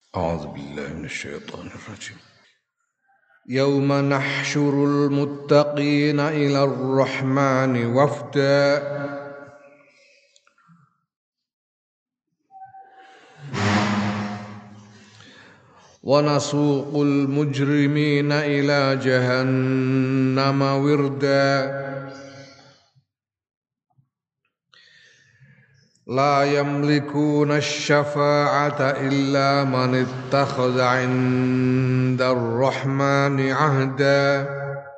أعوذ بالله من الشيطان الرجيم. يوم نحشر المتقين إلى الرحمن وفدا ونسوق المجرمين إلى جهنم وردا لا يملكون الشفاعة إلا من اتخذ عند الرحمن عهدا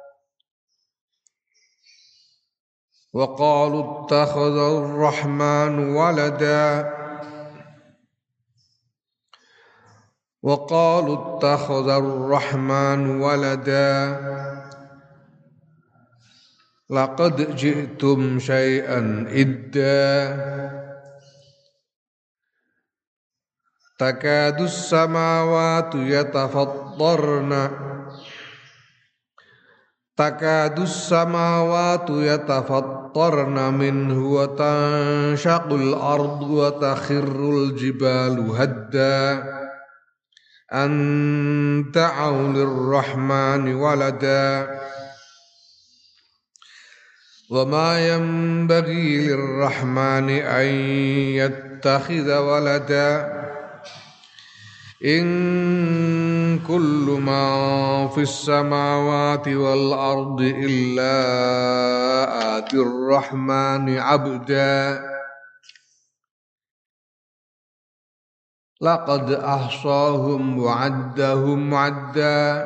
وقالوا اتخذ الرحمن ولدا لقد جئتم شيئا إدا تكاد السماوات يتفطرن منه وتنشق الأرض وتخر الجبال هدا أن دعوا للرحمن ولدا وما ينبغي للرحمن أن يتخذ ولدا إن كل ما في السماوات والأرض إلا آتي الرحمن عبدا لقد أحصاهم وعدهم عدا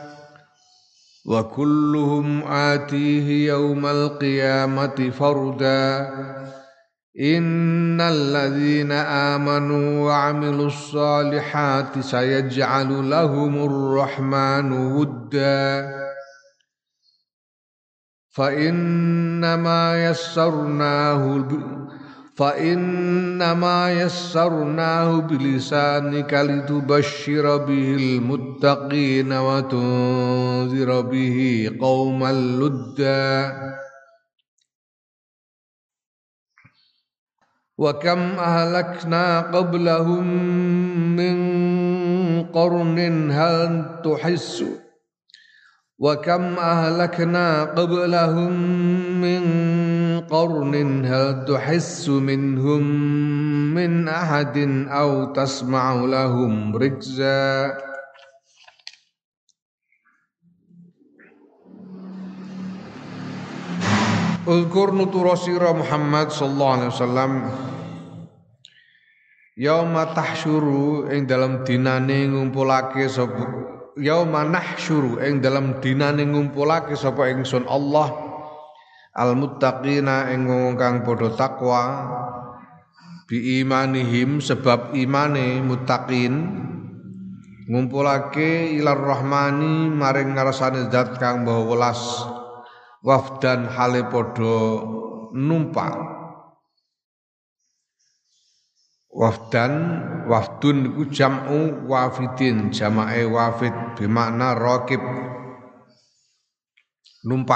وكلهم آتيه يوم القيامة فردا إن الذين آمنوا وعملوا الصالحات سيجعل لهم الرحمن ودا فإنما يسرناه بلسانك لتبشر به المتقين وتنذر به قوما لدا وكم أهلكنا قبلهم من قرن هل تحس منهم من أحد أو تسمع لهم ركزا Ulkur nutura sira Muhammad sallallahu alaihi wasallam yauma tahsyuru ing dalam dinane ngumpulake sapa yauma nahsyuru ing dalam dinane ngumpulake sapa ingsun Allah al muttaqina ing wong kang padha takwa bi imanihim sebab imane muttaqin ngumpulake ilar rahmani maring ngarsane zat kang maha welas wafdan hale podo numpak wafdun iku jam'u wafidin jamae wafid bermakna raqib numpak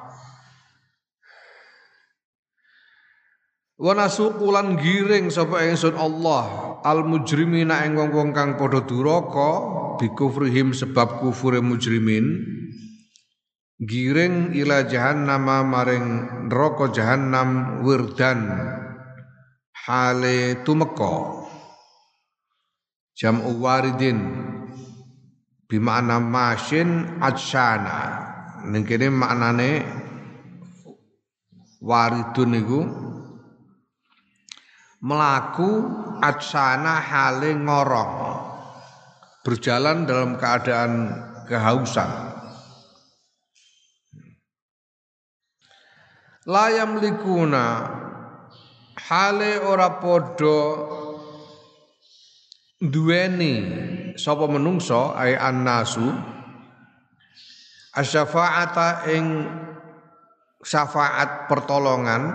wa nasuqulan giring sapa ingsun Allah al mujrimina ing wong-wong kang padha duraka bi kufrihim sebab kufure mujrimin giring ila jahannam maring neraka jahannam wirdan hale tumeka jam'u waridin bimakna masyin adsyana ning kene maknane waridun niku melaku adsyana hale ngorong berjalan dalam keadaan kehausan layam likuna hale ora podo duweni sapa menungso ay annasu asyafaata ing syafaat pertolongan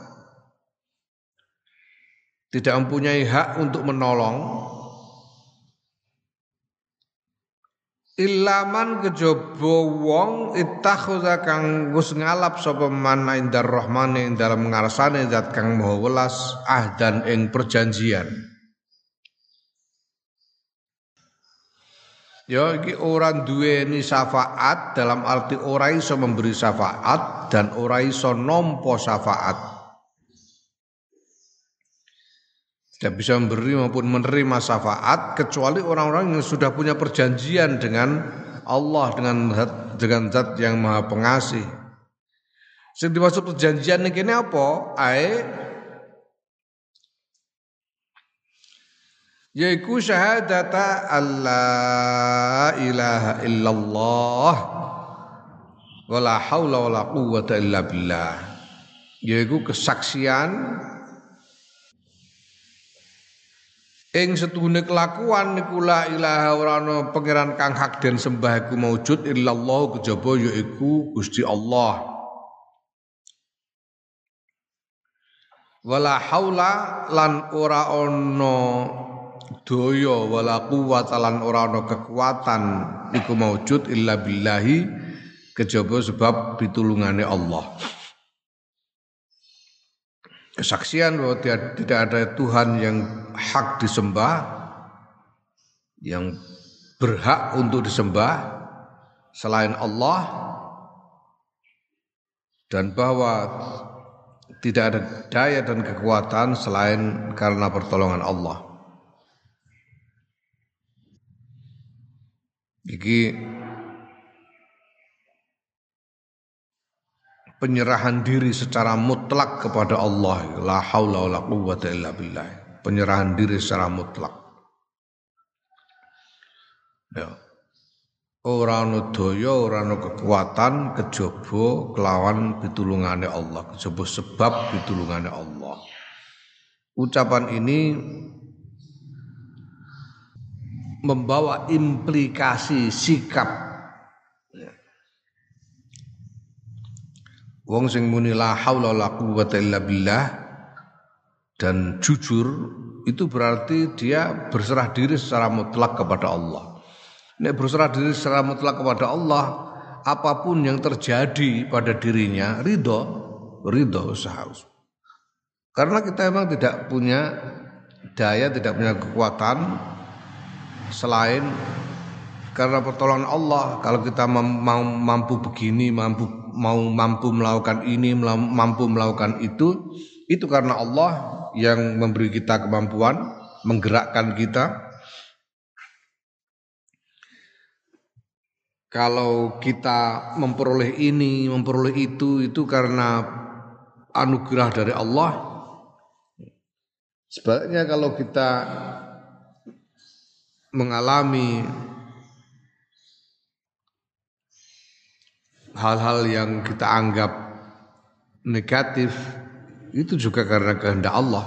tidak mempunyai hak untuk menolong Ilaman kejaba wong ittakhadha kang wis ngalap sapa man indar rahmane ing dalem ngarsane zat kang maha welas ahdan ing perjanjian Ya iki ora duweni syafaat dalam arti ora iso memberi syafaat dan ora iso nampa syafaat. Tidak bisa memberi maupun menerima syafaat kecuali orang-orang yang sudah punya perjanjian dengan Allah dengan zat yang Maha Pengasih. Sing dimaksud perjanjian iki apa? Yaiku syahadata alla ilaha illallah wala haula wala quwwata illa billah. Yaiku kesaksian ing setune kelakuan niku la ilaha ora ana pangeran kang hak den sembah iku maujud illallah kejaba yaiku Gusti Allah. Wala haula lan ora ana daya wala quwwata lan ora ana kekuatan iku maujud illa billahi kejaba sebab pitulungane Allah. Kesaksian bahwa tidak ada Tuhan yang hak disembah, yang berhak untuk disembah selain Allah, dan bahwa tidak ada daya dan kekuatan selain karena pertolongan Allah. Iki penyerahan diri secara mutlak kepada Allah, la haula wala quwwata illa billah. Penyerahan diri secara mutlak. Ya. Ora ana daya, ora ana kekuatan kejaba kelawan pitulungane Allah, kejaba sebab pitulungane Allah. Ucapan ini membawa implikasi sikap. Wong sing muni la haula wala quwwata illa billah dan jujur itu berarti dia berserah diri secara mutlak kepada Allah. Nek berserah diri secara mutlak kepada Allah, apapun yang terjadi pada dirinya ridho usaha. Karena kita memang tidak punya daya, tidak punya kekuatan selain karena pertolongan Allah. Kalau kita mampu begini, mampu melakukan ini, mampu melakukan itu karena Allah yang memberi kita kemampuan, menggerakkan kita. Kalau kita memperoleh ini, memperoleh itu karena anugerah dari Allah. Sebaliknya kalau kita mengalami hal-hal yang kita anggap negatif, itu juga karena kehendak Allah.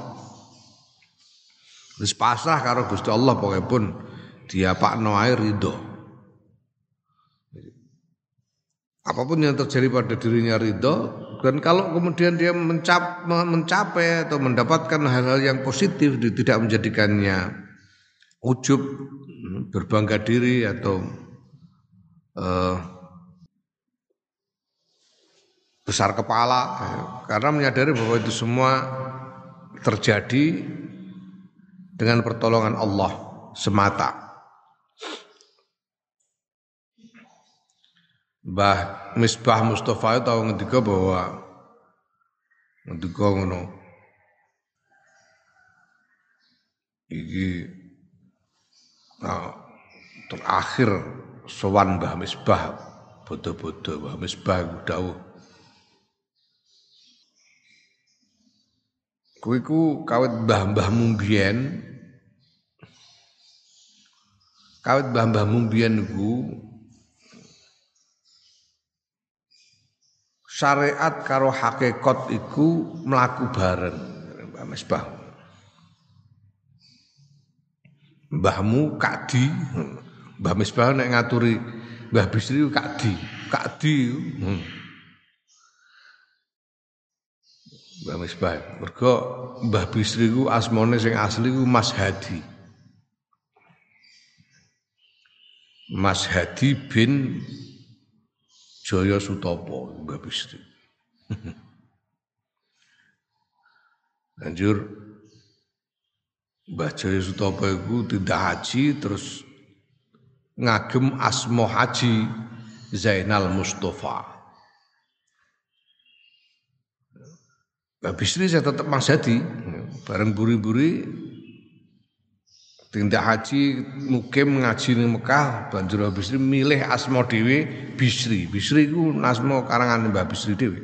Wis pasrah karo Gusti Allah pokoknya pun dia pakno ae ridho. Apapun yang terjadi pada dirinya ridho, dan kalau kemudian dia mencapai atau mendapatkan hal-hal yang positif, dia tidak menjadikannya ujub, berbangga diri atau besar kepala, karena menyadari bahwa itu semua terjadi dengan pertolongan Allah semata. Mbah Misbah Mustafa tahu ngendika bahwa ngendika ngono. Iki terakhir sowan Mbah Misbah bodo-bodo Mbah Misbah dawuh. Kuwi ku kawit mbah-mbahmu mbiyen. Kawit mbah-mbahmu mbiyen niku syariat karo hakikat iku mlaku bareng Mbah Misbah. Mbahmu kadi, Mbah Misbah nek ngaturi Mbah Bisri kadi. Mbah Misbah. Mergo Mbah Bisri ku asmane sing asli ku Mas Hadi. Mas Hadi bin Jaya Sutopo Mbah Bisri. Lanjur Mbah Jaya Sutopo itu tidak haji terus ngagem asma Haji Zainal Mustafa. Mbah Bisri saya tetap Mas Hadi, bareng buri-buri tindak haji mukim ngaji ning Mekah, banjur Mbah Bisri milih asma dhewe Bisri. Bisri iku asma karangan Mbah Bisri dhewe.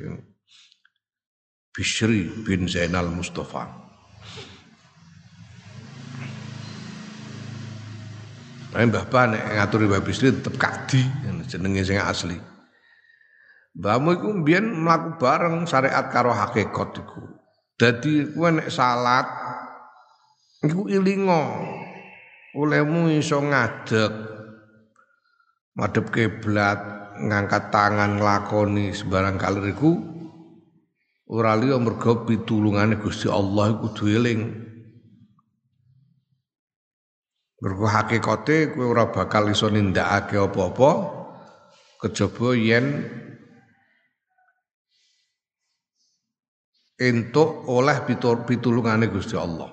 Bisri bin Zainal Mustafa. Mbah Ba nek ngaturi Mbah Bisri tetep Kadi jenenge sing asli. Mbahmu iku mbiyen mlaku bareng syariat karo hakikat iku. Dadi kowe nek salat iku ilinga olehmu iso ngadeg madhep kiblat, ngangkat tangan nglakoni sembarang kalir iku ora liya mergo pitulungane Gusti Allah iku kudu eling. Mergo hakikate kowe ora bakal iso nindakake apa-apa kejaba yen entuk oleh pitulungane Gusti Allah.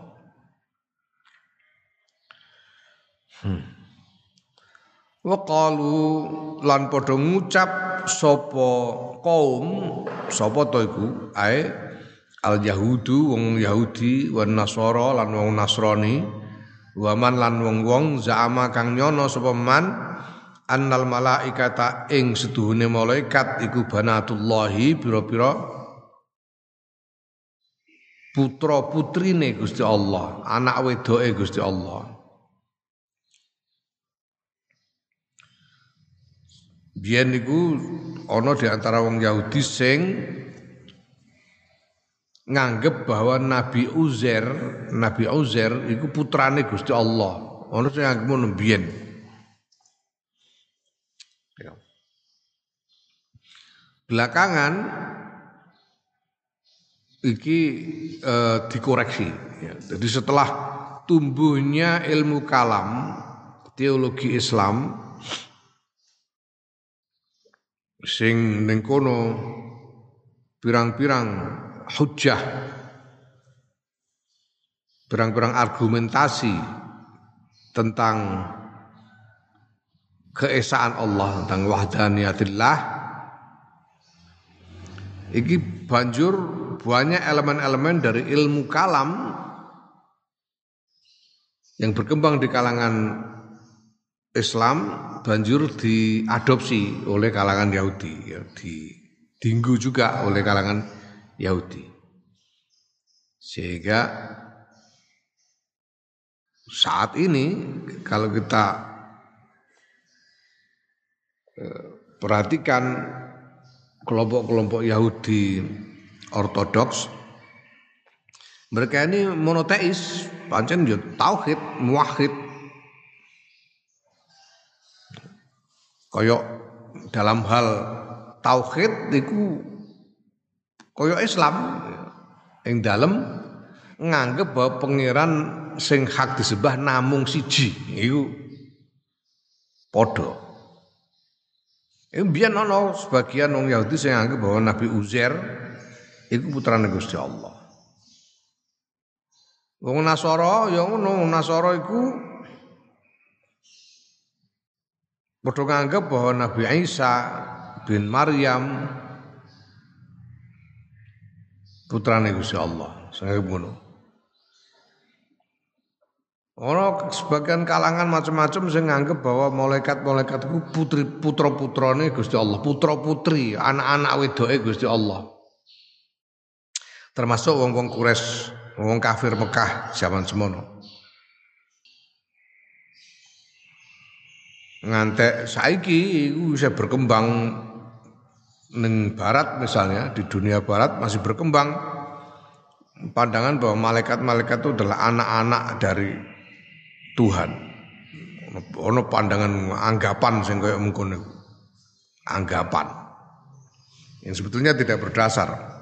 Wa qalu lan padha ngucap sapa kaum sapa to iku ae al yahudu wong Yahudi wan Nasara lan wong Nasrani waman lan wong-wong za'ama kang nyono sapa man annal malaikata ing seduhune malaikat iku banatullahi pira-pira putra putrine Gusti Allah, anak wedoke Gusti Allah. Biyen niku ana di antara wong Yahudi sing nganggep bahwa Nabi Uzair iku putrane Gusti Allah. Ana sing nganggep ngono biyen. Belakangan iki dikoreksi. Ya. Jadi setelah tumbuhnya ilmu kalam, teologi Islam, sing ning kono pirang-pirang hujjah, pirang-pirang argumentasi tentang keesaan Allah, tentang wahdaniyatillah, iki banjur banyak elemen-elemen dari ilmu kalam yang berkembang di kalangan Islam banjur diadopsi oleh kalangan Yahudi, ya, ditinggu juga oleh kalangan Yahudi. Sehingga saat ini kalau kita perhatikan kelompok-kelompok Yahudi Ortodoks, mereka ini monoteis, pancen yo tauhid, muwahhid. Kaya dalam hal tauhid niku kaya Islam ing dalem nganggep bahwa pangeran sing hak disembah namung siji, iku padha. Mbiyen ana sebagian wong Yahudi sing nganggep bahwa Nabi Uzair iku putrane Gusti Allah. Wong Nasara ya ngono, Nasara iku padha nganggep bahwa Nabi Isa bin Maryam putrane Gusti Allah. Sing ngono. Ana sebagian kalangan macam-macam sing nganggep bahwa malaikat-malaikat iku putra-putrane Gusti Allah, putra-putri, anak-anak wedoke Gusti Allah. Termasuk wong-wong Quraisy, wong kafir Mekah zaman semono. Ngantek saiki iku bisa berkembang ning barat misalnya, di dunia barat masih berkembang pandangan bahwa malaikat-malaikat itu adalah anak-anak dari Tuhan. Ono pandangan anggapan sing kaya mengkono. Anggapan yang sebetulnya tidak berdasar.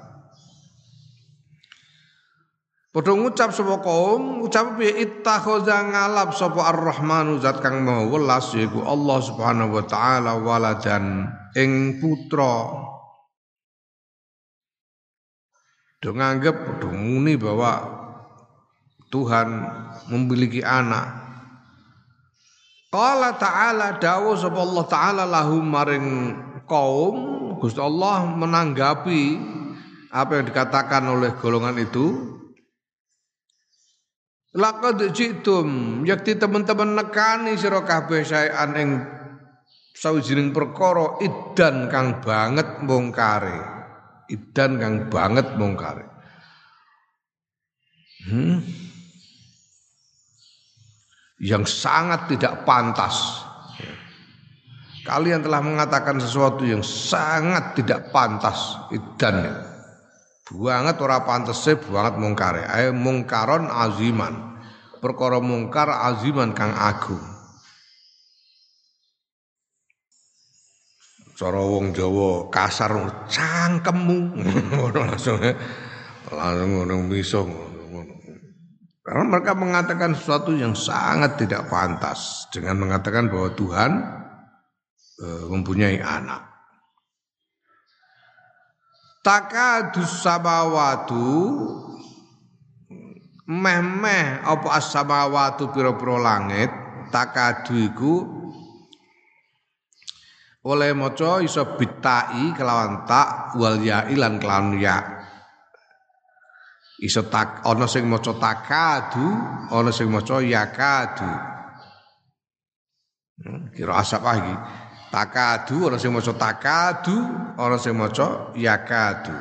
Padha ngucap sapa kaum, ucap piye ittakhadha ngalap sapa Ar-Rahmanu zat kang maha welas yaiku Allah Subhanahu wa taala waladan ing putra. Do nganggep do muni bahwa Tuhan memiliki anak. Qala ta'ala dawuh sapa Allah taala lahum maring kaum Gusti Allah menanggapi apa yang dikatakan oleh golongan itu. Laqad jitum yakti teman-teman nekani sira kabeh saean ing sawijining perkara idan kang banget mungkare. Idan kang banget mungkare. Yang sangat tidak pantas. Kalian telah mengatakan sesuatu yang sangat tidak pantas idan. Banget ora pantese banget mungkare. Ayo mungkaron aziman. Perkara mungkar aziman kang agung. Cara wong Jawa kasar cangkemmu ngono langsung ngono miso ngono. Karena mereka mengatakan sesuatu yang sangat tidak pantas dengan mengatakan bahwa Tuhan mempunyai anak. Takadus samawatu meh-meh apa as-samawatu pira-pira langit takadu iku oleh maca iso bitai kelawan tak wal ya lan kelawan ya. Iso tak ana sing maca takadu, ana sing maca yakadu. Kira asap lagi. Takadu ana sing maca takadu, ana sing maca yakadu.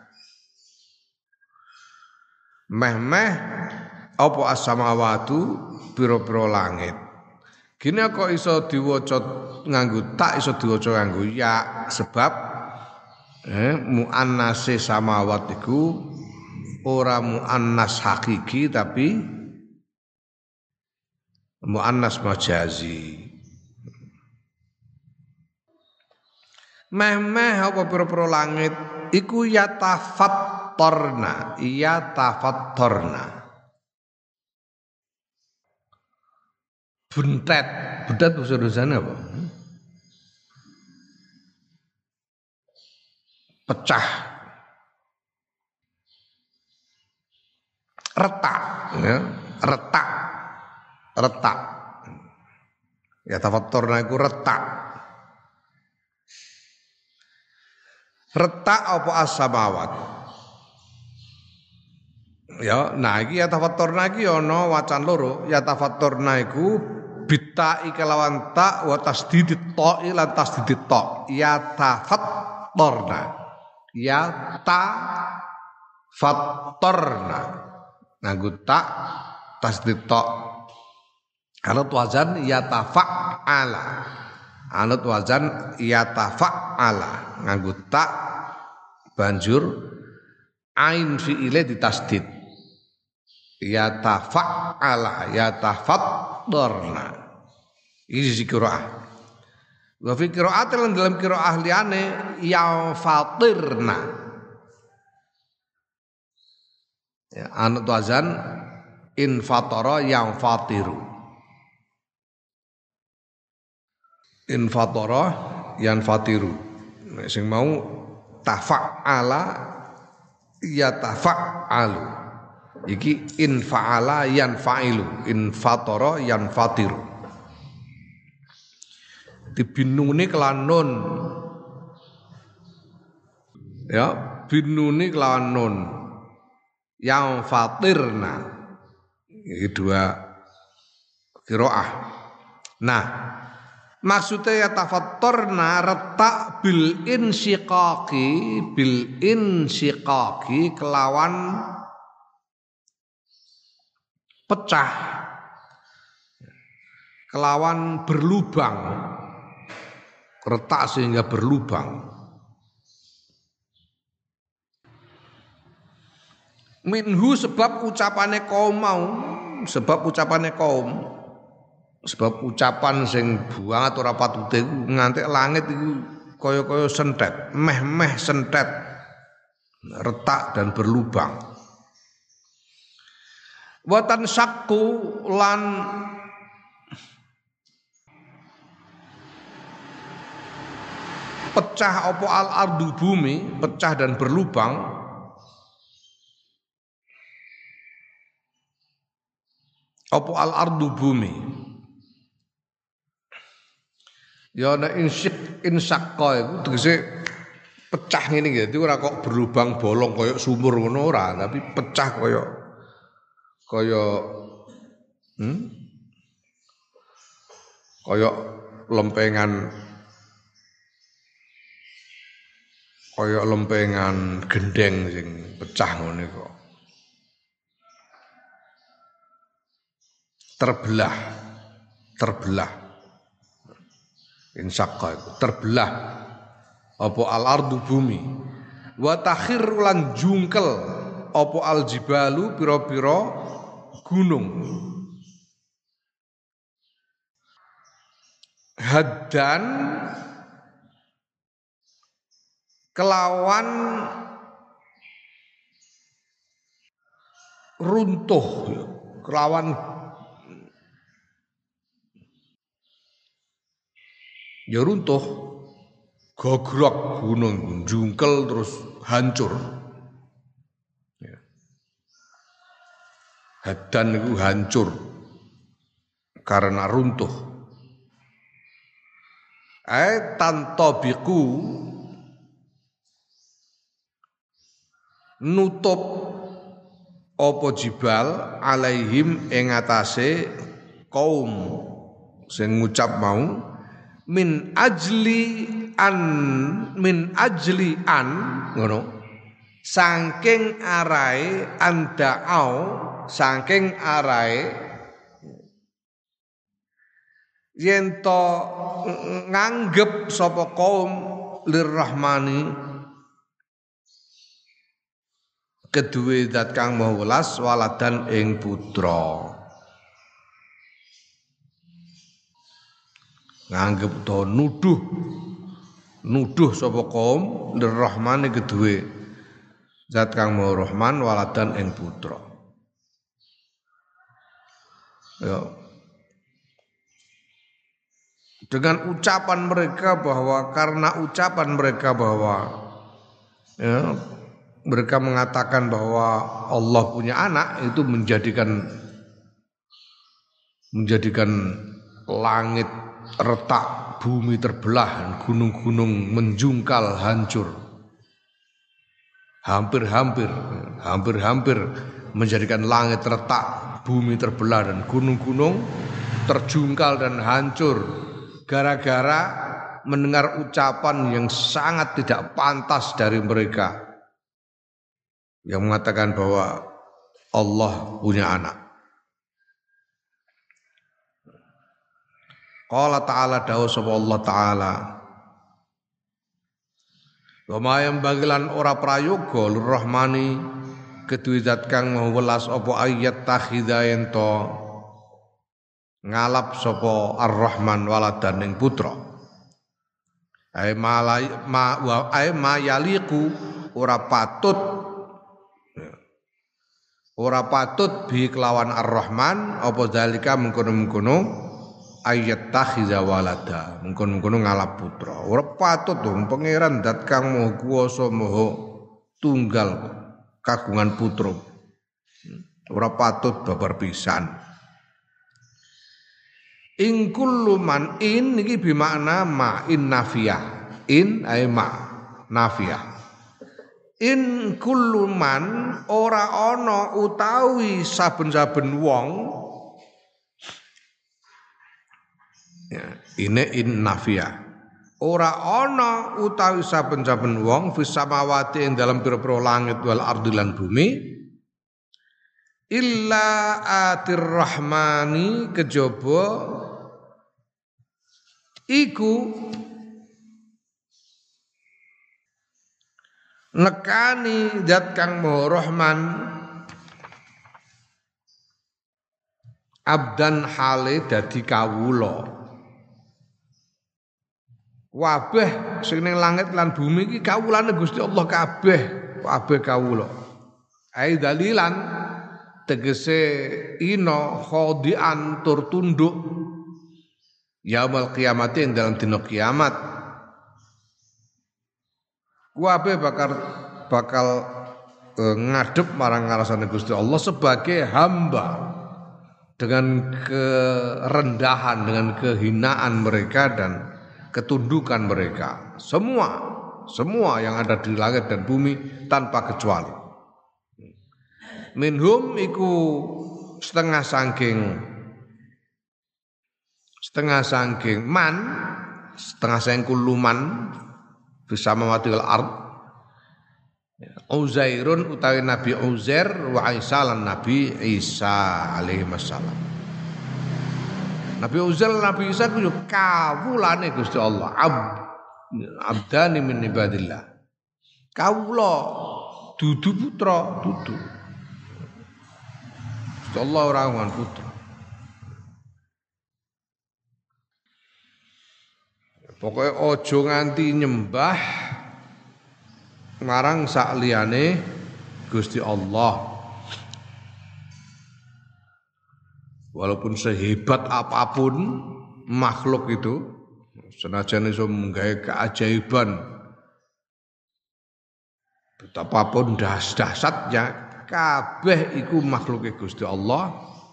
Meh-meh apa as-samawatu pira-pira langit. Gini kok iso diwaca nganggo tak iso diwaca nganggo ya sebab muannase samawat iku ora muannas hakiki tapi muannas majazi. Meh-meh apa pira-pira langit iku yatafattarna. Buntet bahasa Indonesia apa? Pecah. Retak, ya. Retak. Ya tafatturna iku retak. Retak apa as-samawat? Ya, nah iki ya tafatturna iki ana wacan loro. Ya tafatturna iku bitai kelawan ta wa tasdidit ta ila tasdidit ta. Ya tafatturna. Ya ta fattarna. Nganggo tak tasdid ta. Anut wazan yatafa'ala. Anut wazan yatafa'ala. Nganggo tak banjur ain fi'ile ditasdid. Yatafa'ala yatafattarna. Ini sisi qiraah. Wa fi qiraatin dalam qiraah liyane ya fatirna. Ya, anut wazan infatara yang fatiru. Infatara yang fatiru. Sing mau tafa'ala ya tafa'alu. Iki infa'ala yan fa'ilu. Infatara yan fatiru. Dibinuni kelan nun. Ya, binuni kelan nun. Yang fatirna. Ini dua qiraah. Nah, maksudnya ya tafattarna retak bil insyiqaqi kelawan pecah, kelawan berlubang, retak sehingga berlubang. Minhu sebab ucapane kaum mau, sebab ucapan sing banget ora patute nganti langit iku kaya-kaya sentet, meh-meh sentet, retak dan berlubang. Watan sakku lan pecah apa al-ardu bumi, pecah dan berlubang. Apa al-ardu bumi Ya nek insaqqa iku tegese pecah ngene iki. Dadi ora kok berlubang bolong kaya sumur ngono ora, tapi pecah kaya kaya lempengan gendeng sing pecah ngono kok. Terbelah. Insaqqa iku terbelah apa al-ardu bumi. Wa takhir lan jungkel apa al-jibalu pira-pira gunung. Haddan kelawan runtuh, kelawan ya runtuh, gogrok gunung, jungkel terus hancur. Ya. Hadan itu hancur karena runtuh. Tantabiqu nutup apa jibal alaihim ing atase kaum sing ngucap mau min ajli an ngono saking arae anda'au saking arae yen to nganggep sapa kaum lirrahmani kedue zat kang maha welas waladan ing putra. Nganggep to nuduh sapa kaum lirrahmani kedue zat kang maha rahman waladan ing putra. Ya. Dengan ucapan mereka bahwa ya, mereka mengatakan bahwa Allah punya anak itu menjadikan langit retak, bumi terbelah, gunung-gunung menjungkal hancur. Hampir-hampir menjadikan langit retak, bumi terbelah dan gunung-gunung terjungkal dan hancur. Gara-gara mendengar ucapan yang sangat tidak pantas dari mereka yang mengatakan bahwa Allah punya anak. Qala ta'ala dawuh sapa Allah ta'ala wa ma yambagilan ora prayoga lirrahmani kedue zat kang maha welas apa ayat takhidha ento ngalap sapa ar-rahman waladan ing putra. Ai ma yaliku ora patut bi kelawan ar-rahman apa zalika mengkono-mengkono ayat takhiza walada mengkono-mengkono ngalap putra. Ora patut dong pangeran zat kang maha kuwasa maha tunggal kagungan putra. Ora patut babar pisan. In kullu man in niki bimakna ma in nafiyah. In ay ma nafiyah. In kullu man ora ana utawi saben-saben wong ya, ini in nafiyah. Ora ana utawi saben-saben wong fis samawati ing dalam pira-pira langit wal ardi lan bumi illa atir rahmani kejaba iku nekani zat kang maha rahman abdan hale dadi kawula. Wabeh sing ning langit lan bumi iki kawulane Gusti Allah kabeh kawula. Ai dalilan tegese ina khadian tur tunduk yaumul kiamat ing dalam dina kiamat. Kabeh bakal ngadep marang ngarasane Gusti Allah sebagai hamba dengan kerendahan, dengan kehinaan mereka dan ketundukan mereka. Semua yang ada di langit dan bumi tanpa kecuali. Minhum iku setengah sangking man, setengah sangking kuluman bisa mematil ard. Uzairun utawi Nabi Uzair wa Isa lan Nabi Isa alaihi wassalam. Nabi Uzair lan Nabi Isa ku kawulane Gusti Allah, abdani min ibadillah. Kawula dudu putra, dudu. Gusti Allah ora ngan putra. Pokoknya ojo nganti nyembah marang sakliyane Gusti Allah. Walaupun sehebat apapun makhluk itu, senajan iso menggawe keajaiban, betapapun dahsyatnya, kabeh iku makhluke Gusti Allah.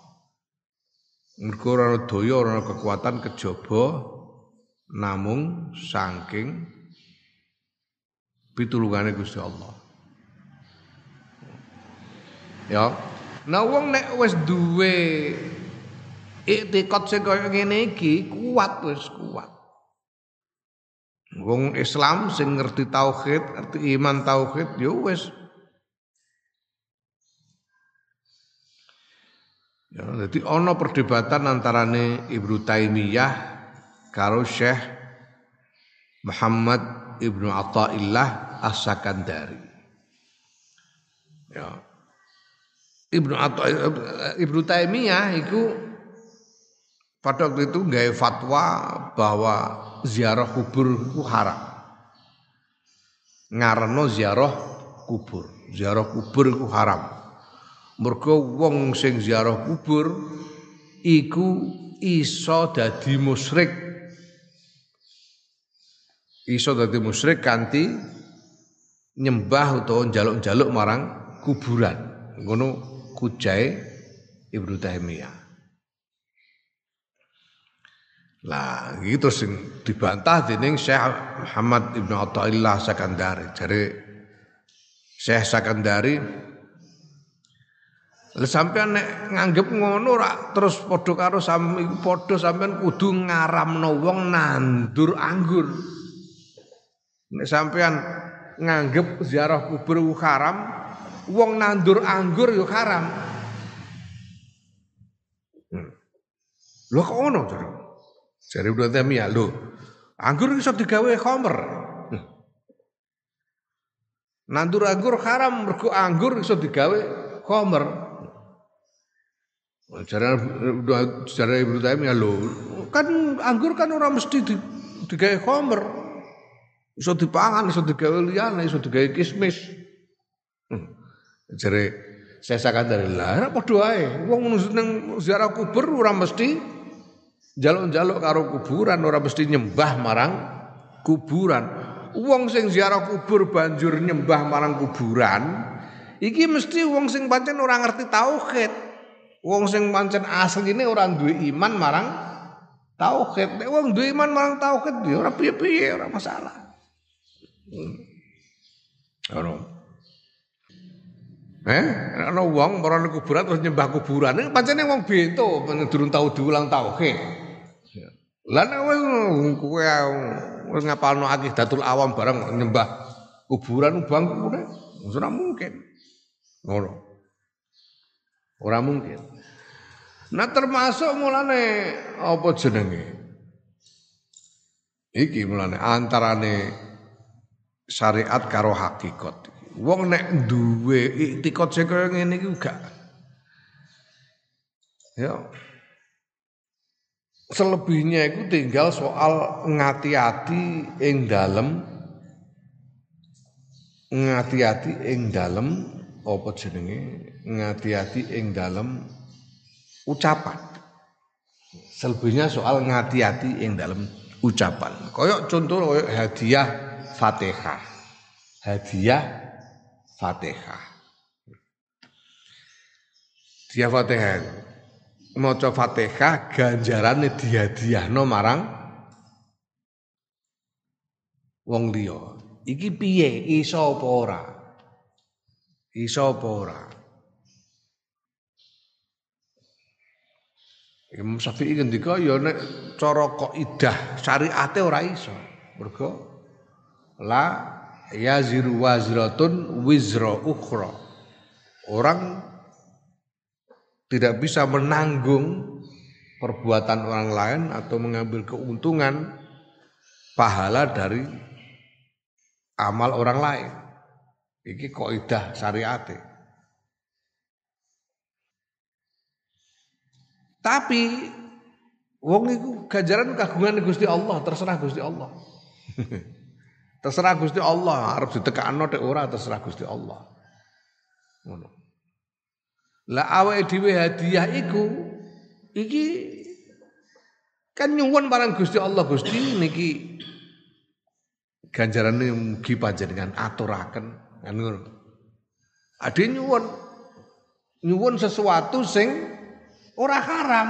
Mergo ora daya ora kekuatan kejaba namung saking pitulungane Gusti Allah. Ya. Nah wong nek wis duwe iktikad sing kaya ngene iki kuat. Wong Islam sing ngerti tauhid, ngerti iman tauhid ya wis. Ya, jadi ana perdebatan antarane Ibnu Taimiyah karo Syekh Muhammad Ibnu Athaillah As-Sakandari. Ya. Ibnu Taimiyah itu pada waktu itu nggawe fatwa bahwa ziarah kubur itu haram. Ngareno ziarah kubur itu haram. Mergo wong sing ziarah kubur iku iso dadi musyrik. Iso dadi musyrik kanthi nyembah utawa njaluk-njaluk marang kuburan. Ngono kujae Ibnu Taimiyah. Lah iki terus sing dibantah dening Syekh Muhammad Ibnu Athaillah Sakandari. Jare Syekh Sakandari, lha sampean nek nganggep ngono ora terus padha karo sampean kudu ngaramno wong nandur anggur. Nek sampean nganggep ziarah kubur haram, wong nandur anggur yo haram. Lho kok ngono to? Jare Ibnu Taimiyah, lho, anggur iso digawe khamr. Nandur anggur haram mergo anggur iso digawe khamr. Jare Ibnu Taimiyah, lho, kan anggur kan ora mesti digawe khamr. Iso dipangan, iso digawe liyane, iso digawe kismis. Jare saya Sakandari, lah padha ae. Wong nang ziarah kubur ora mesti njaluk-njaluk karo kuburan, ora mesti nyembah marang kuburan. Wong sing ziarah kubur banjur nyembah marang kuburan, iki mesti wong sing pancen ora ngerti tauhid. Wong sing pancen asline ora duwe iman marang tauhid. Nek wong duwe iman marang tauhid ya ora piye-piye, ora masalah. Ana wong marang kuburan terus nyembah kuburan. Nek pancene wong bento durung tau diulang tauhid. Lah nek kowe wis ngapalno Aqidatul Awam bareng nyembah kuburan bangkune ora mungkin. Ngono. Ora mungkin. Nah termasuk mulane apa jenenge? Iki mulane antarane syariat karo hakikat. Wong nek duwe iktikad sing kaya ngene iki gak. Ya. Selebihnya itu tinggal soal ngati-ati ing dalem apa jenenge? Ngati-ati ing dalem ucapan. Selebihnya soal ngati-ati ing dalem ucapan. Kayak contoh kayak hadiah Fatihah. Hadiah Fatihah. Maca Fatihah ganjarane dihadiahno marang wong liya. Iki piye iso apa ora? Iso apa ora? Imam Syafi'i ngendika ya nek cara kaidah syariate ora iso. Mergo la yaziru wazratun wizra ukhra. Orang tidak bisa menanggung perbuatan orang lain atau mengambil keuntungan pahala dari amal orang lain. Iki kaidah syariate. Tapi wong iku ganjaran kagungan Gusti Allah, terserah Gusti Allah. Terserah Gusti Allah, arep ditekakno tek ora terserah Gusti Allah. Ngono. Lah awake dhewe hadiah iku iki kan nyuwun marang Gusti Allah, Gusti niki ganjarane mugi panjenengan aturaken kan ngono. Ade nyuwun sesuatu sing ora haram.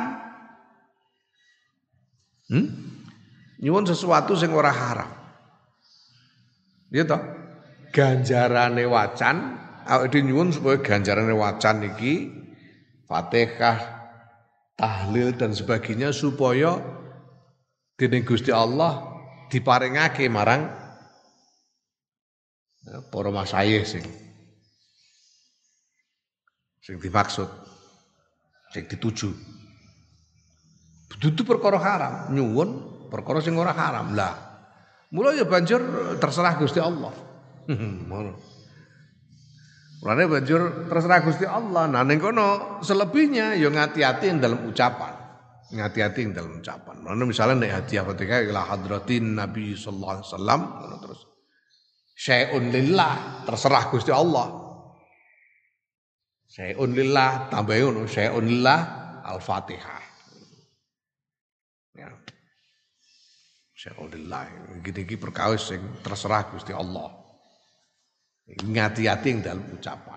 Nyuwun sesuatu sing ora haram. Ya toh? Ganjarane wacan, awake dhewe nyuwun supaya ganjarane wacan iki Fatihah, tahlil dan sebagainya supaya dening Gusti Allah diparingake marang para masayih sing dimaksud, sing dituju. Dudu perkara haram, nyuwun perkara sing ora haram. Lah, mula ya banjur terserah Gusti Allah. Ngono. Mulane banjur terserah Gusti Allah. Nah ning kono selebihnya ya ngati-ati ing dalam ucapan. Ngati-ati ing dalam ucapan. Mulane misalnya nek hadiah Fatihah ila hadratin Nabi sallallahu alaihi wasallam ngono terus syai'un lillah, terserah Gusti Allah. Syai'un lillah tambahin ngono, syai'un lillah Al-Fatihah. Ya. Syai'un lillah iki perkawis sing terserah Gusti Allah. Ngati-ati ing dalam ucapan.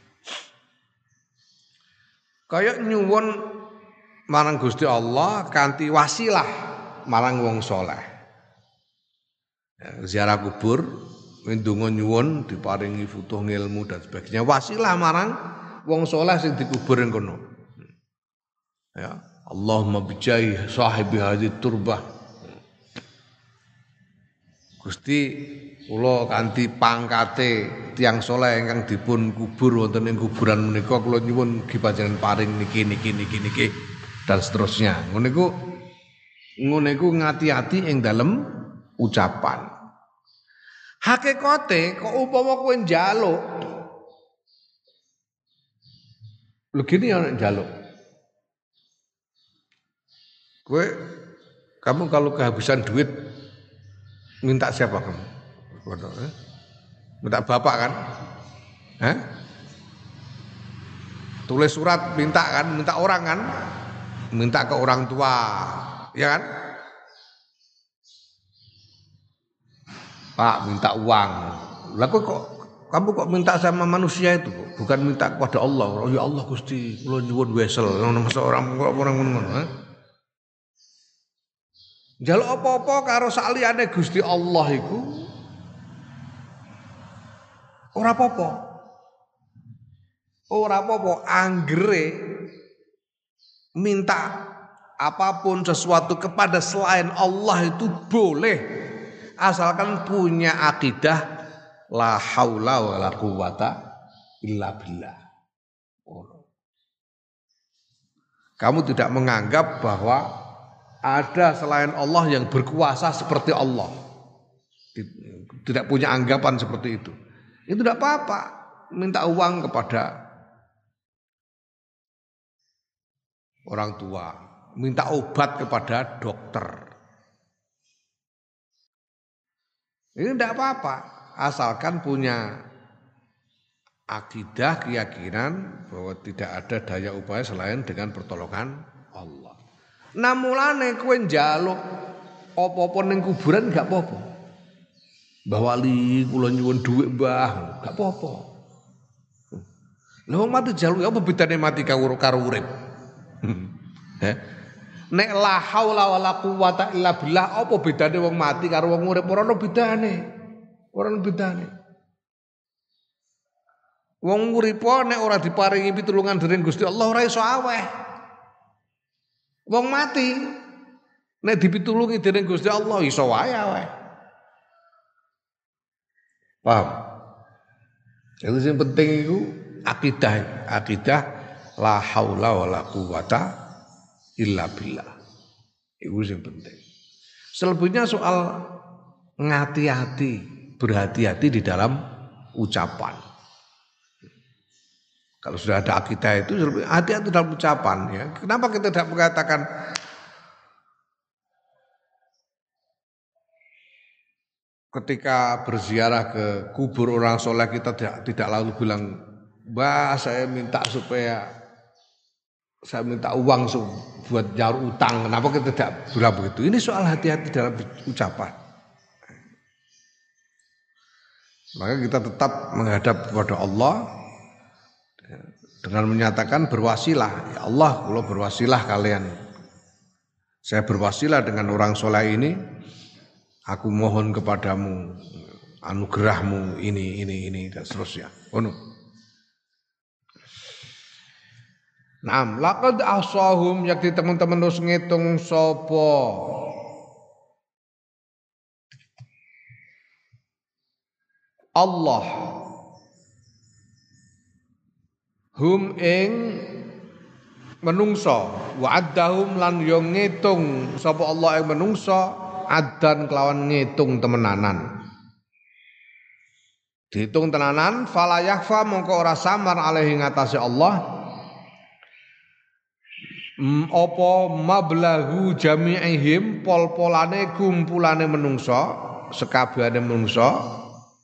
Kaya nyuwun marang Gusti Allah kanthi wasilah marang wong saleh. Ya, ziarah kubur, ndonga nyuwun diparingi futuh ilmu dan sebagainya. Wasilah marang wong saleh sing dikubur ing kono. Ya, Allahumma bijahi sahibi hadhihi turbah. Gusti kula kanthi pangkate tiyang saleh ingkang dipun kubur wonten ing kuburan menika kula nyuwun mugi panjenengan paring niki dan seterusnya. Ngono iku ngati-ati ing dalem ucapan. Hakikate kok upama kowe njaluk. Lho gini ya njaluk. Kamu kalau kehabisan duit minta siapa kamu? Minta bapak kan? Tulis surat minta kan? Minta orang kan? Minta ke orang tua, ya kan? Pak minta uang. Lah kamu kok minta sama manusia itu? Bukan minta kepada Allah. Oh ya Allah Gusti, kula nyuwun wesel. Masa orang ngono. Njaluk apa-apa karo saliyane Gusti Allah iku ora apa-apa. Ora apa-apa anggere minta apapun sesuatu kepada selain Allah itu boleh asalkan punya akidah la haula wala quwata illa billah. Kamu tidak menganggap bahwa ada selain Allah yang berkuasa seperti Allah. Tidak punya anggapan seperti itu. Itu tidak apa-apa. Minta uang kepada orang tua. Minta obat kepada dokter. Ini tidak apa-apa. Asalkan punya akidah, keyakinan bahwa tidak ada daya upaya selain dengan pertolongan Allah. Namulane kowe njaluk apa-apa ning kuburan gak apa-apa. Mbah Wali kula nyuwun dhuwit Mbah, gak apa-apa. Lha wong mati njaluk apa bedane mati karo urip? Nek la haula wala quwata illa billah apa bedane wong mati karo wong urip ora ono bedane. Ora ana bedane. Wong uripa nek ora diparingi pitulungan dening Gusti Allah ora iso aweh. Wong mati nek dipitulungi dening Gusti Allah iso wae aweh. Paham? Yang sing penting iku akidah la haula wala quwata illa billah. Iku sing penting. Selebihnya soal ngati-hati, berhati-hati di dalam ucapan. Kalau sudah ada akidah itu hati-hati dalam ucapan ya. Kenapa kita tidak mengatakan ketika berziarah ke kubur orang soleh kita tidak lalu bilang, "Mbah, saya minta uang buat nyaur utang." Kenapa kita tidak bilang begitu? Ini soal hati-hati dalam ucapan. Maka kita tetap menghadap kepada Allah dengan menyatakan berwasilah, ya Allah, kalau berwasilah kalian, saya berwasilah dengan orang soleh ini, aku mohon kepadamu anugerahmu ini dan seterusnya. Ono. Naam, laqad ahsahum yakti teman-teman wis ngitung sapa Allah hum ing menungso wa addahum lan yo ngitung sapa Allah ing menungso adan kelawan ngitung temenanan. Dihitung tenanan fala yakhfa mongko ora samar alaihi ngatasé Allah apa mablahu jami'ihim pol-polane kumpulane menungso sekabehane menungso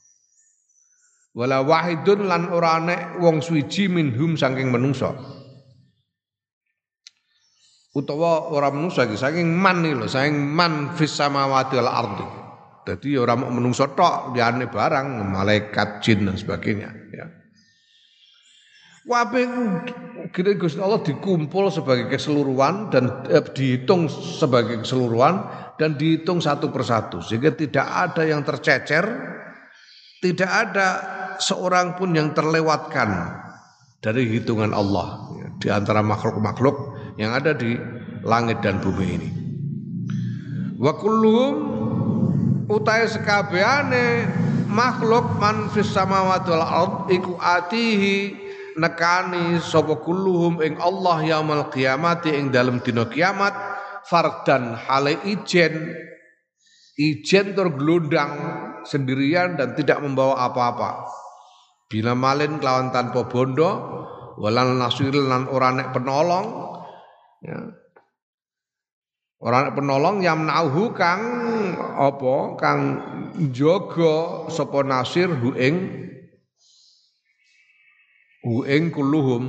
wala wahidun lan ora nek wong suwiji minhum saking menungso utawa ora menungso iki saking man iki lho saking man fis samawati wal ardi. Dadi ora mung menungso tok liyane barang malaikat jin dan sebagainya ya. Kabeh gede Gusti Allah dikumpul sebagai keseluruhan dan dihitung sebagai keseluruhan dan dihitung satu persatu sehingga tidak ada yang tercecer, tidak ada seorang pun yang terlewatkan dari hitungan Allah ya, di antara makhluk-makhluk yang ada di langit dan bumi ini. Wa kulluhum utai sekabehane makhluk man fis samawati wal ard iku atihi nekani sapa kulluhum ing Allah yaumul qiyamati ing dalem dina kiamat fardan hale ijen tur glundang sendirian dan tidak membawa apa-apa. Bila malin kelawan tanpa bondo, walan nasir lan ora nek penolong, ya. Ora nek penolong yamnauhu kang apa kang jaga sapa nasir hu ing kulluhum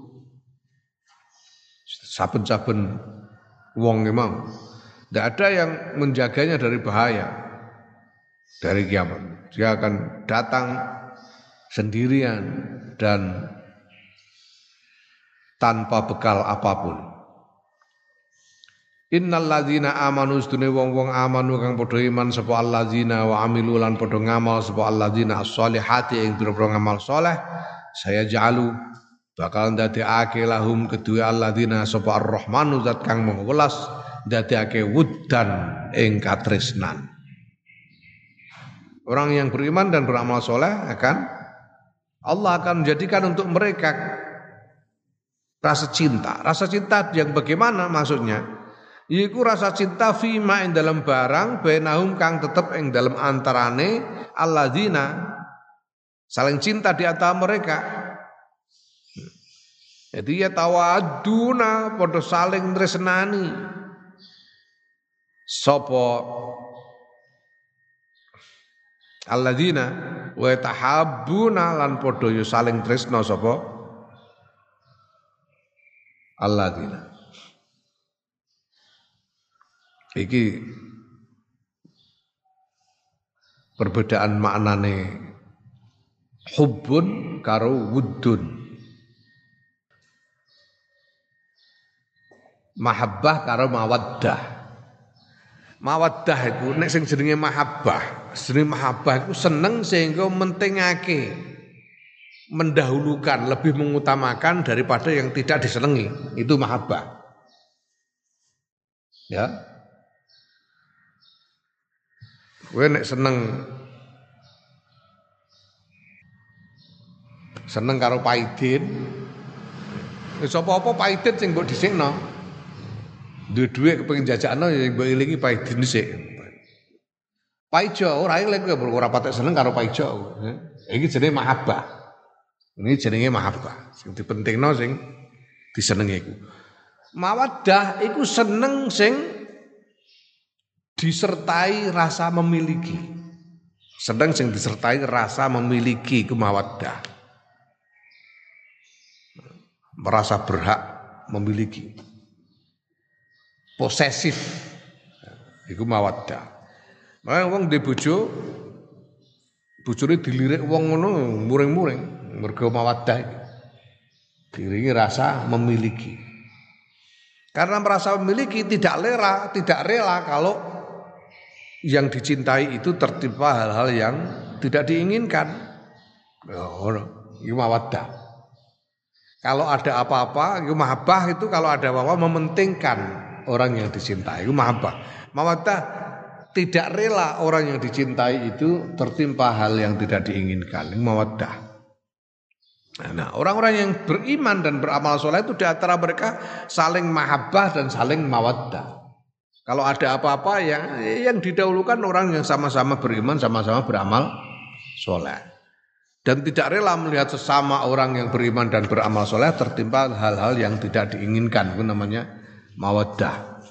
saben-saben wong memang tidak ada yang menjaganya dari bahaya dari kiamat. Dia akan datang sendirian dan tanpa bekal apapun. Innal ladzina amanu sedune wong-wong amanu kang padha iman sapa alladzina wa amilu lan padha ngamal sapa alladzina as-solihati ing pira-pira ngamal saleh saya ja'alu bakal ndadekake lahum kedua alladzina sapa ar-rahmanu zat kang maha welas ndadekake wuddan ing katresnan. Orang yang beriman dan beramal soleh Allah akan menjadikan untuk mereka rasa cinta. Rasa cinta yang bagaimana maksudnya? Yaiku rasa cinta fima ing dalam barang bainahum kang tetep ing dalam antarane alladzina saling cinta di antara mereka. Jadi ya tawaduna padha saling tresnani. Sapa alladzina wa tahabbuna lan padha ya saling tresna sapa alladzina. Iki perbedaan maknane hubbun karo wuddun. Mahabbah karo mawaddah. Mawaddah iku nek sing jenenge mahabbah, jenenge mahabbah iku seneng sehingga mentingake, mendahulukan, lebih mengutamakan daripada yang tidak disenengi. Itu mahabbah. Ya. Kowe nek seneng karo Paidin, wis apa-apa Paidin sing mbok dhisikno. Duwe dhuwit kepengin jajakno ya mbok ilingi Paidin dhisik. Paijo ora eling kowe ora patek seneng karo Paijo. Iki jenenge mahabbah. Ini jenenge mahabbah. Sing dipentingno sing disenengi iku. Mawaddah iku seneng sing disertai rasa memiliki. Seneng sing disertai rasa memiliki iku mawaddah. Merasa berhak memiliki. Posesif. Iku mawaddah. Makanya wong ndek bojone dilirik wong ngono muring-muring mergo mawaddah iki. Diringi rasa memiliki. Karena merasa memiliki tidak rela kalau yang dicintai itu tertimpa hal-hal yang tidak diinginkan. Itu mawaddah. Kalau ada apa-apa, itu mahabbah itu kalau ada apa-apa mementingkan orang yang dicintai. Itu mahabbah. Mawaddah tidak rela orang yang dicintai itu tertimpa hal yang tidak diinginkan. Itu mawaddah. Nah, orang-orang yang beriman dan beramal soleh itu di antara mereka saling mahabbah dan saling mawaddah. Kalau ada apa-apa yang didahulukan orang yang sama-sama beriman, sama-sama beramal soleh. Dan tidak rela melihat sesama orang yang beriman dan beramal soleh tertimpa hal-hal yang tidak diinginkan. Itu namanya mawaddah.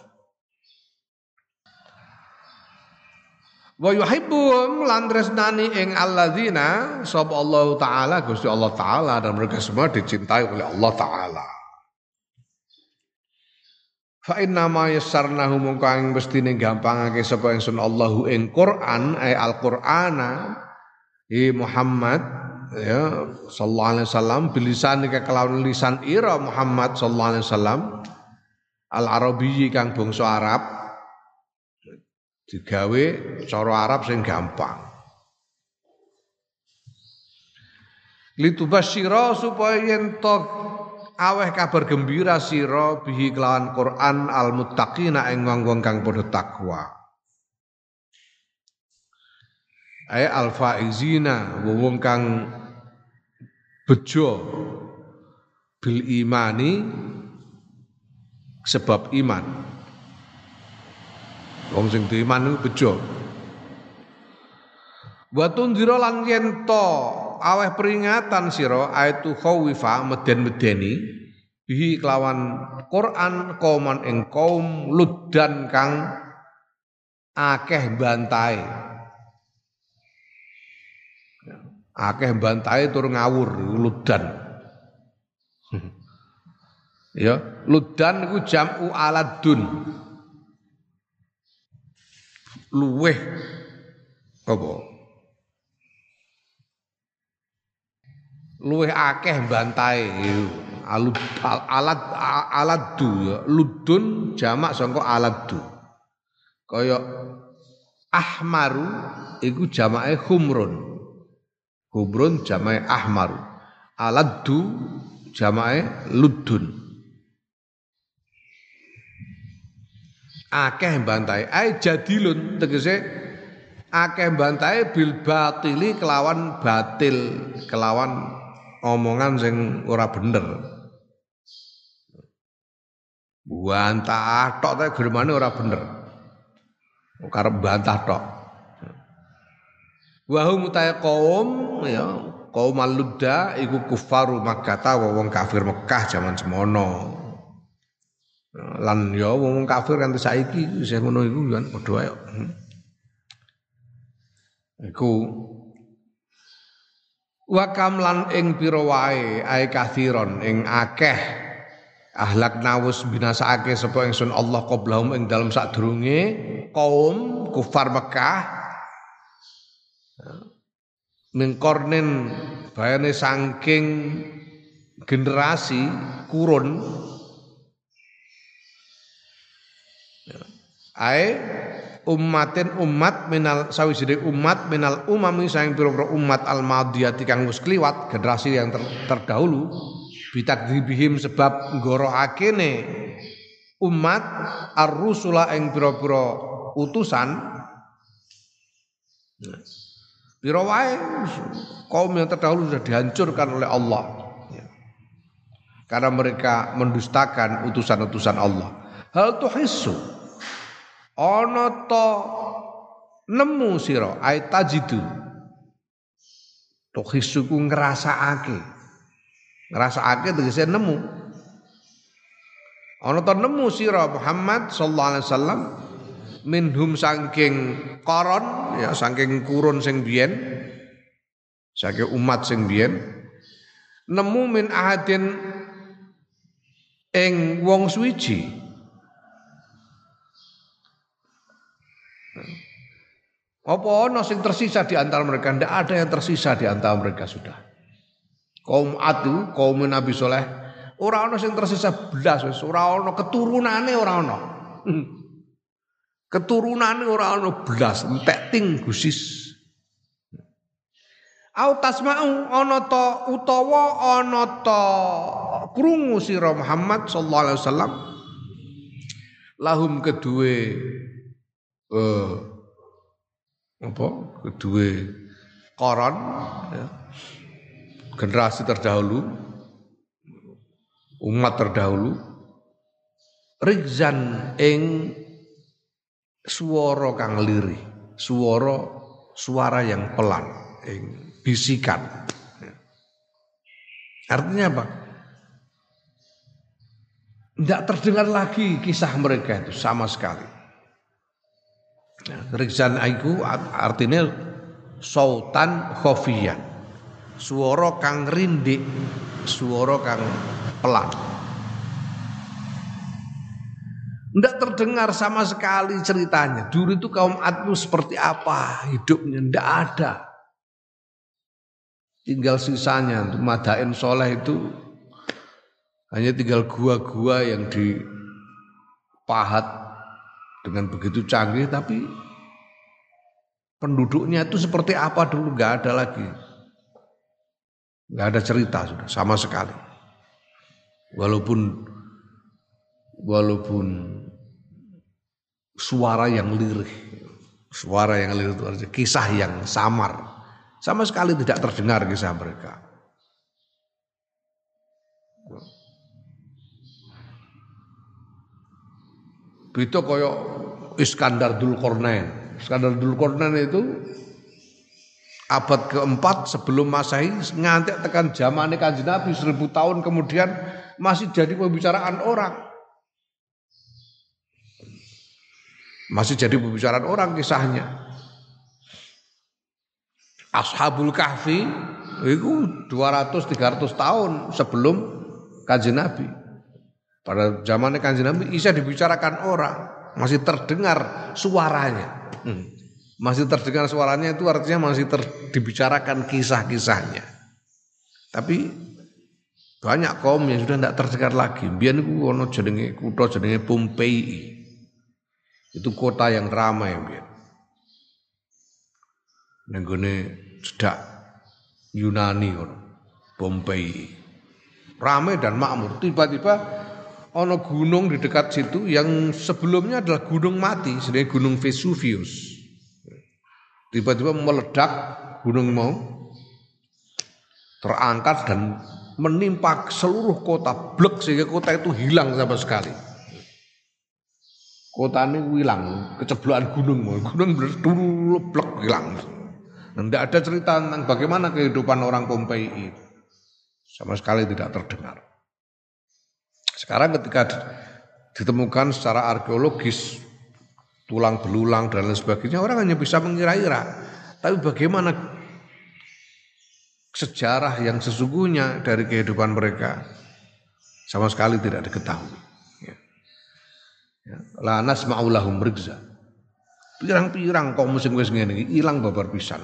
Wa yuhibbuhum lan tresnani ing alladzina sapa Allah taala Gusti Allah taala dan mereka semua dicintai oleh Allah taala. Fa inna ma yassarnahu mongko ing mestine gampangake sapa ingsun Allahu ing Quran al-Qur'ana Muhammad ya sallallahu alaihi wasallam bilisan kelawan lisan ira Muhammad sallallahu alaihi wasallam al-arabiyyi kang bangsa Arab digawe cara Arab sing gampang. Litubasyira supaya yen aweh kabar gembira sira bihi kelawan Quran al muttaqina ing wong-wong kang padha takwa. Ay al faizina wong kang bejo bil imani sebab iman. Wong sing diiman iku bejo. Wa tunzira lan yen aweh peringatan sira aitu khawifa meden-medeni bihi kelawan Quran kauman ing kaum luddan kang akeh bantae. Akeh bantae tur ngawur luddan. Ya, luddan iku jam'u aladun. Luweh apa? Luweh akeh bantae aladdu ya ludun jamak sangka aladdu kaya ahmaru iku jamake humrun jamake ahmaru aladdu jamake ludun akeh bantae ai jadilun tegese akeh bantae bil batili kelawan batil kelawan omongan sing ora bener. Bantah tok ta germane ora bener. Karep bantah tok. Wa hum kaum ya kaum al-ludda iku kufaru Makkah wong kafir Mekah jaman semono. Lan ya wong kafir kanthi saiki sing ngono iku kan padha wae. Iku wa kamlan ing pira wae ae kathiron ing akeh ahlak nawus binasake sapa ingsun Allah qablahum ing dalem sadurunge kaum kufar Mekah min qarnin bayane saking generasi kurun ae ummatin umat minal sawijine umat minal umami saing pira-pira umat al-madiyati kang wis kliwat generasi yang terdahulu bitakdzibihim sebab nggoroakene umat ar-rusula ing pira-pira utusan pira wae kaum yang terdahulu sudah dihancurkan oleh Allah karena mereka mendustakan utusan-utusan Allah. Hal tuhissu ana ta nemu sira ai tajidu tuhissu ku ngrasakake tegese nemu ana ta nemu sira Muhammad sallallahu alaihi wasallam minhum saking koron ya saking kurun sing biyen saking umat sing biyen nemu min ahadin ing wong suwiji apa ana sing tersisa di antara mereka? Tidak ada yang tersisa di antara mereka sudah. Kaum Adu, kaum Nabi Soleh, ora ana sing tersisa blas wis, ora ana keturunane ora ana. Keturunane ora ana blas, entek ting gusis. Au tasma'u ana ta utawa ana ta krungu sira Muhammad sallallahu alaihi wasallam lahum kedue kedue koron ya, generasi terdahulu umat terdahulu rizan ing swara kang lirih suara yang pelan ing bisikan. Artinya apa? Tidak terdengar lagi kisah mereka itu sama sekali. Rizan aiku artinya sautan khofiyan. Suara kang rindik, suara kang pelan. Tidak terdengar sama sekali ceritanya. Dulu itu kaum Ad seperti apa hidupnya, tidak ada. Tinggal sisanya untuk Madain Soleh itu hanya tinggal gua-gua yang dipahat dengan begitu canggih, tapi penduduknya itu seperti apa dulu nggak ada lagi, nggak ada cerita sudah sama sekali. Walaupun suara yang lirih itu artinya kisah yang samar. Sama sekali tidak terdengar kisah mereka. Itu koyok Iskandar Dzulqarnain. Iskandar Dzulqarnain itu abad keempat sebelum Masehi ngantek tekan zamane Kanjeng Nabi 1000 tahun kemudian masih jadi pembicaraan orang. Masih jadi pembicaraan orang kisahnya. Ashabul Kahfi itu 200-300 tahun sebelum Kanjeng Nabi. Pada zamannya Kanjeng Nabi bisa dibicarakan orang, masih terdengar suaranya. Masih terdengar suaranya itu artinya masih dibicarakan kisah-kisahnya. Tapi banyak kaum yang sudah tidak terdengar lagi. Biyen niku ana jenenge kutha jenenge Pompei. Itu kota yang ramai biyen. Nenggone cedak Yunani Pompei. Ramai dan makmur. Tiba-tiba ana gunung di dekat situ yang sebelumnya adalah gunung mati, sebenarnya Gunung Vesuvius. Tiba-tiba meledak gunung mau terangkat dan menimpa seluruh kota, blek sehingga kota itu hilang sama sekali. Kota ini hilang, keceblokan gunung dulu blek hilang. Dan tidak ada cerita tentang bagaimana kehidupan orang Pompei. Sama sekali tidak terdengar. Sekarang ketika ditemukan secara arkeologis tulang belulang dan lain sebagainya, orang hanya bisa mengira-ira. Tapi bagaimana sejarah yang sesungguhnya dari kehidupan mereka sama sekali tidak diketahui. La nasma'u lahum rizza. Pirang-pirang kaum sing wis ngene iki ilang babar pisan.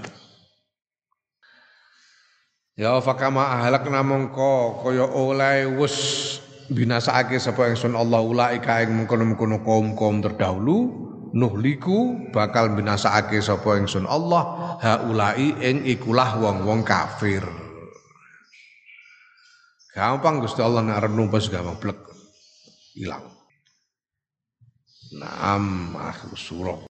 Ya fakama ahlakna mongko kaya oleh wis binasake sapa ingsun Allah ulaika ing mengkono-mengkono kaum-kaum terdahulu nuhliku bakal binasakake sapa ingsun Allah haulai ing ikulah wong-wong kafir. Gampang Gusti Allah nek arep numpas gampang blek ilang. Naam akhir surah.